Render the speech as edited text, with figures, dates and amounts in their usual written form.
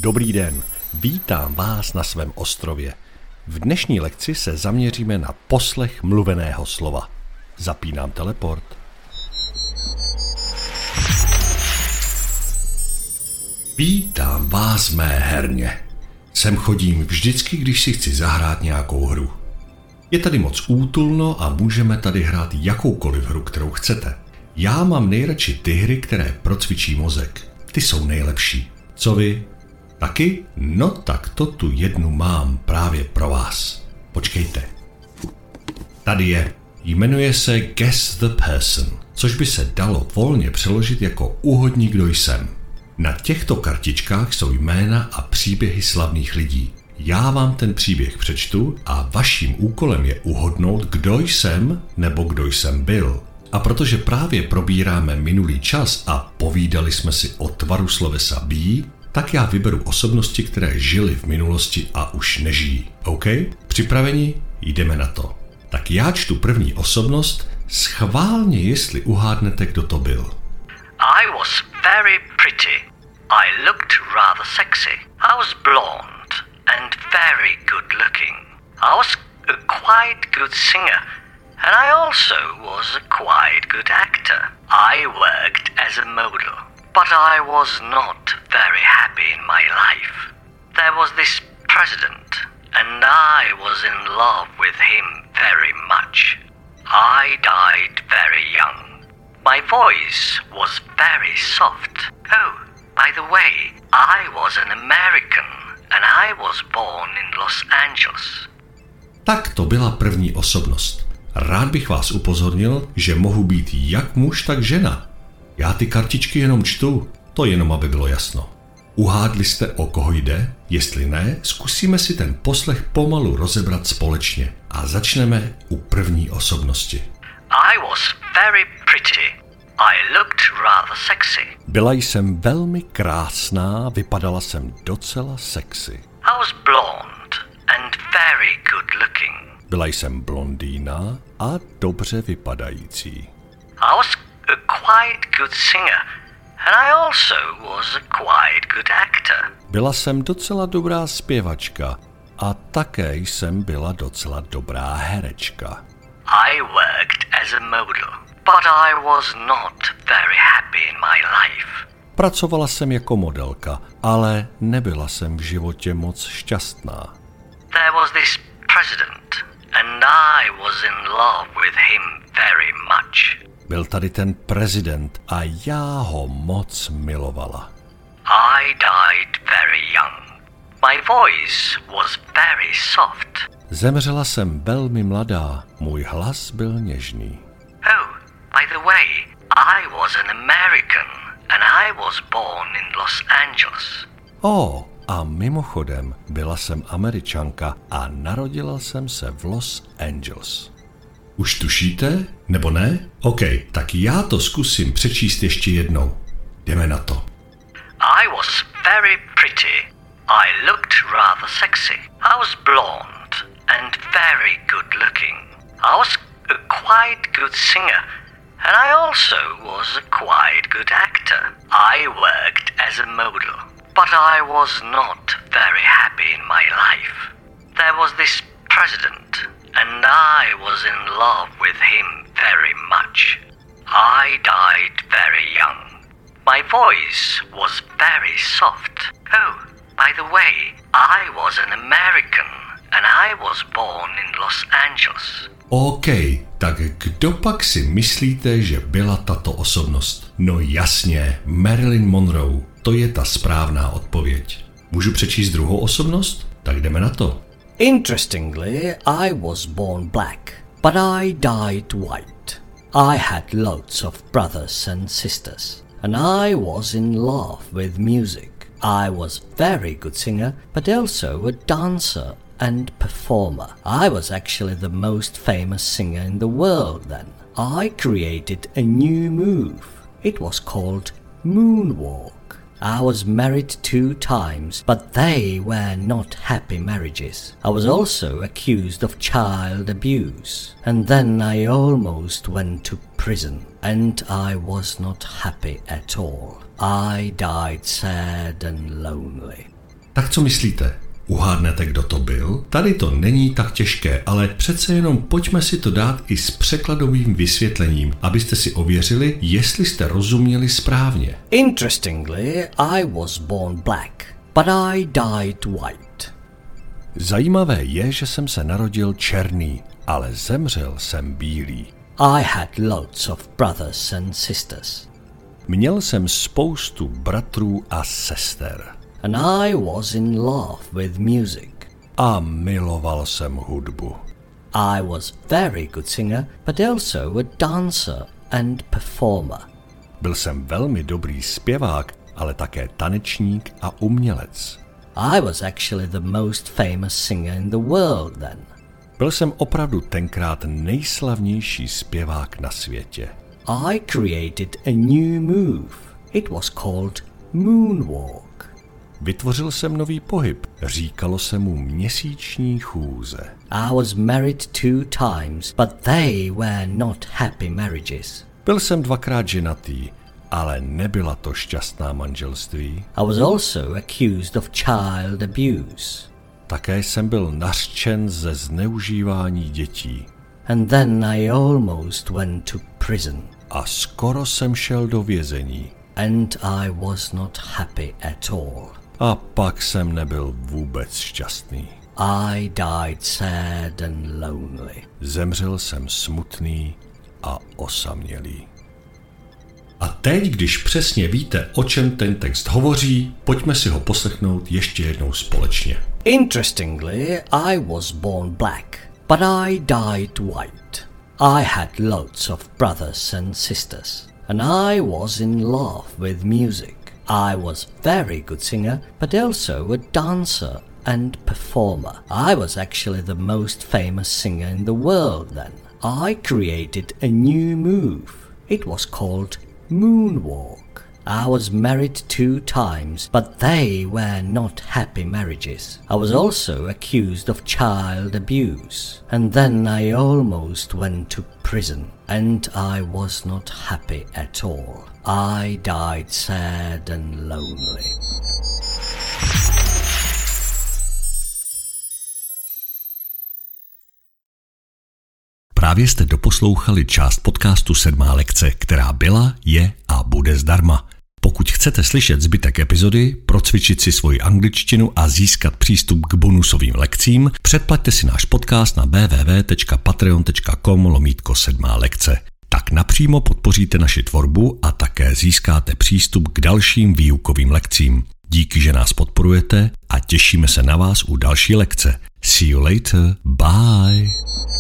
Dobrý den, vítám vás na svém ostrově. V dnešní lekci se zaměříme na poslech mluveného slova. Zapínám teleport. Vítám vás v mé herně. Sem chodím vždycky, když si chci zahrát nějakou hru. Je tady moc útulno a můžeme tady hrát jakoukoliv hru, kterou chcete. Já mám nejradši ty hry, které procvičí mozek. Ty jsou nejlepší. Co vy? Taky? No tak to tu jednu mám právě pro vás. Počkejte. Tady je. Jmenuje se Guess the Person, což by se dalo volně přeložit jako Uhodni, kdo jsem. Na těchto kartičkách jsou jména a příběhy slavných lidí. Já vám ten příběh přečtu a vaším úkolem je uhodnout, kdo jsem nebo kdo jsem byl. A protože právě probíráme minulý čas a povídali jsme si o tvaru slovesa be, tak já vyberu osobnosti, které žily v minulosti a už nežijí. OK? Připraveni? Jdeme na to. Tak já čtu první osobnost, schválně jestli uhádnete, kdo to byl. I was very pretty. I looked rather sexy. I was blonde and very good looking. I was a quite good singer. And I also was a quite good actor. I worked as a model, but I was not very happy in my life. There was this president, and I was in love with him very much. I died very young. My voice was very soft. Oh, by the way, I was an American, and I was born in Los Angeles. Tak to byla první osobnost. Rád bych vás upozornil, že mohu být jak muž, tak žena. Já ty kartičky jenom čtu, to jenom aby bylo jasno. Uhádli jste, o koho jde? Jestli ne, zkusíme si ten poslech pomalu rozebrat společně a začneme u první osobnosti. I was very pretty. I looked rather sexy. Byla jsem velmi krásná, vypadala jsem docela sexy. I was blonde and very good looking. Byla jsem blondýna a dobře vypadající. I was a quite good singer, and I also was a quite good actor. Byla jsem docela dobrá zpěvačka a také jsem byla docela dobrá herečka. I worked as a model, but I was not very happy in my life. Pracovala jsem jako modelka, ale nebyla jsem v životě moc šťastná. There was this president, and I was in love with him very much. Byl tady ten prezident a já ho moc milovala. I died very young. My voice was very soft. Zemřela jsem velmi mladá, můj hlas byl něžný. Oh, by the way, I was an American, and I was born in Los Angeles. A mimochodem, byla jsem Američanka a narodila jsem se v Los Angeles. Už tušíte? Nebo ne? OK, tak já to zkusím přečíst ještě jednou. Jdeme na to. I was very pretty. I looked rather sexy. I was blonde and very good looking. I was a quite good singer, and I also was a quite good actor. I worked as a model, but I was not very happy in my life. There was this president, and I was in love with him very much. I died very young. My voice was very soft. Oh, by the way, I was an American, and I was born in Los Angeles. OK, tak kdo pak si myslíte, že byla tato osobnost? No jasně, Marilyn Monroe. To je ta správná odpověď. Můžu přečíst druhou osobnost? Tak jdeme na to. Interestingly, I was born black, but I died white. I had lots of brothers and sisters, and I was in love with music. I was very good singer, but also a dancer and performer. I was actually the most famous singer in the world then. I created a new move. It was called moonwalk. I was married 2 times, but they were not happy marriages. I was also accused of child abuse, and then I almost went to prison, and I was not happy at all. I died sad and lonely. Tak co myslíte? Uhádnete, kdo to byl? Tady to není tak těžké, ale přece jenom pojďme si to dát i s překladovým vysvětlením, abyste si ověřili, jestli jste rozuměli správně. Interestingly, I was born black, but I died white. Zajímavé je, že jsem se narodil černý, ale zemřel jsem bílý. I had loads of brothers and sisters. Měl jsem spoustu bratrů a sester. And I was in love with music. A miloval jsem hudbu. I was very good singer, but also a dancer and performer. Byl jsem velmi dobrý zpěvák, ale také tanečník a umělec. I was actually the most famous singer in the world then. Byl jsem opravdu tenkrát nejslavnější zpěvák na světě. I created a new move. It was called moonwalk. Vytvořil jsem nový pohyb. Říkalo se mu měsíční chůze. I was married 2 times, but they were not happy marriages. Byl jsem 2krát ženatý, ale nebyla to šťastná manželství. I was also accused of child abuse. Také jsem byl nařčen ze zneužívání dětí. And then I almost went to prison. A skoro jsem šel do vězení. And I was not happy at all. A pak jsem nebyl vůbec šťastný. I died sad and lonely. Zemřel jsem smutný a osamělý. A teď, když přesně víte, o čem ten text hovoří, pojďme si ho poslechnout ještě jednou společně. Interestingly, I was born black, but I died white. I had loads of brothers and sisters, and I was in love with music. I was very good singer, but also a dancer and performer. I was actually the most famous singer in the world then. I created a new move. It was called moonwalk. I was married 2 times, but they were not happy marriages. I was also accused of child abuse. And then I almost went to prison. And I was not happy at all. I died sad and lonely. Právě jste doposlouchali část podcastu 7. lekce, která byla, je a bude zdarma. Pokud chcete slyšet zbytek epizody, procvičit si svoji angličtinu a získat přístup k bonusovým lekcím, předplaťte si náš podcast na www.patreon.com/7 lekce. Tak napřímo podpoříte naši tvorbu a také získáte přístup k dalším výukovým lekcím. Díky, že nás podporujete a těšíme se na vás u další lekce. See you later. Bye.